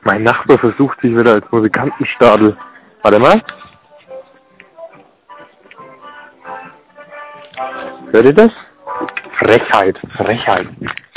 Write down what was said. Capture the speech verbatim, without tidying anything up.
Mein Nachbar versucht sich wieder als Musikantenstadel. Warte mal. Hört ihr das? Frechheit, Frechheit.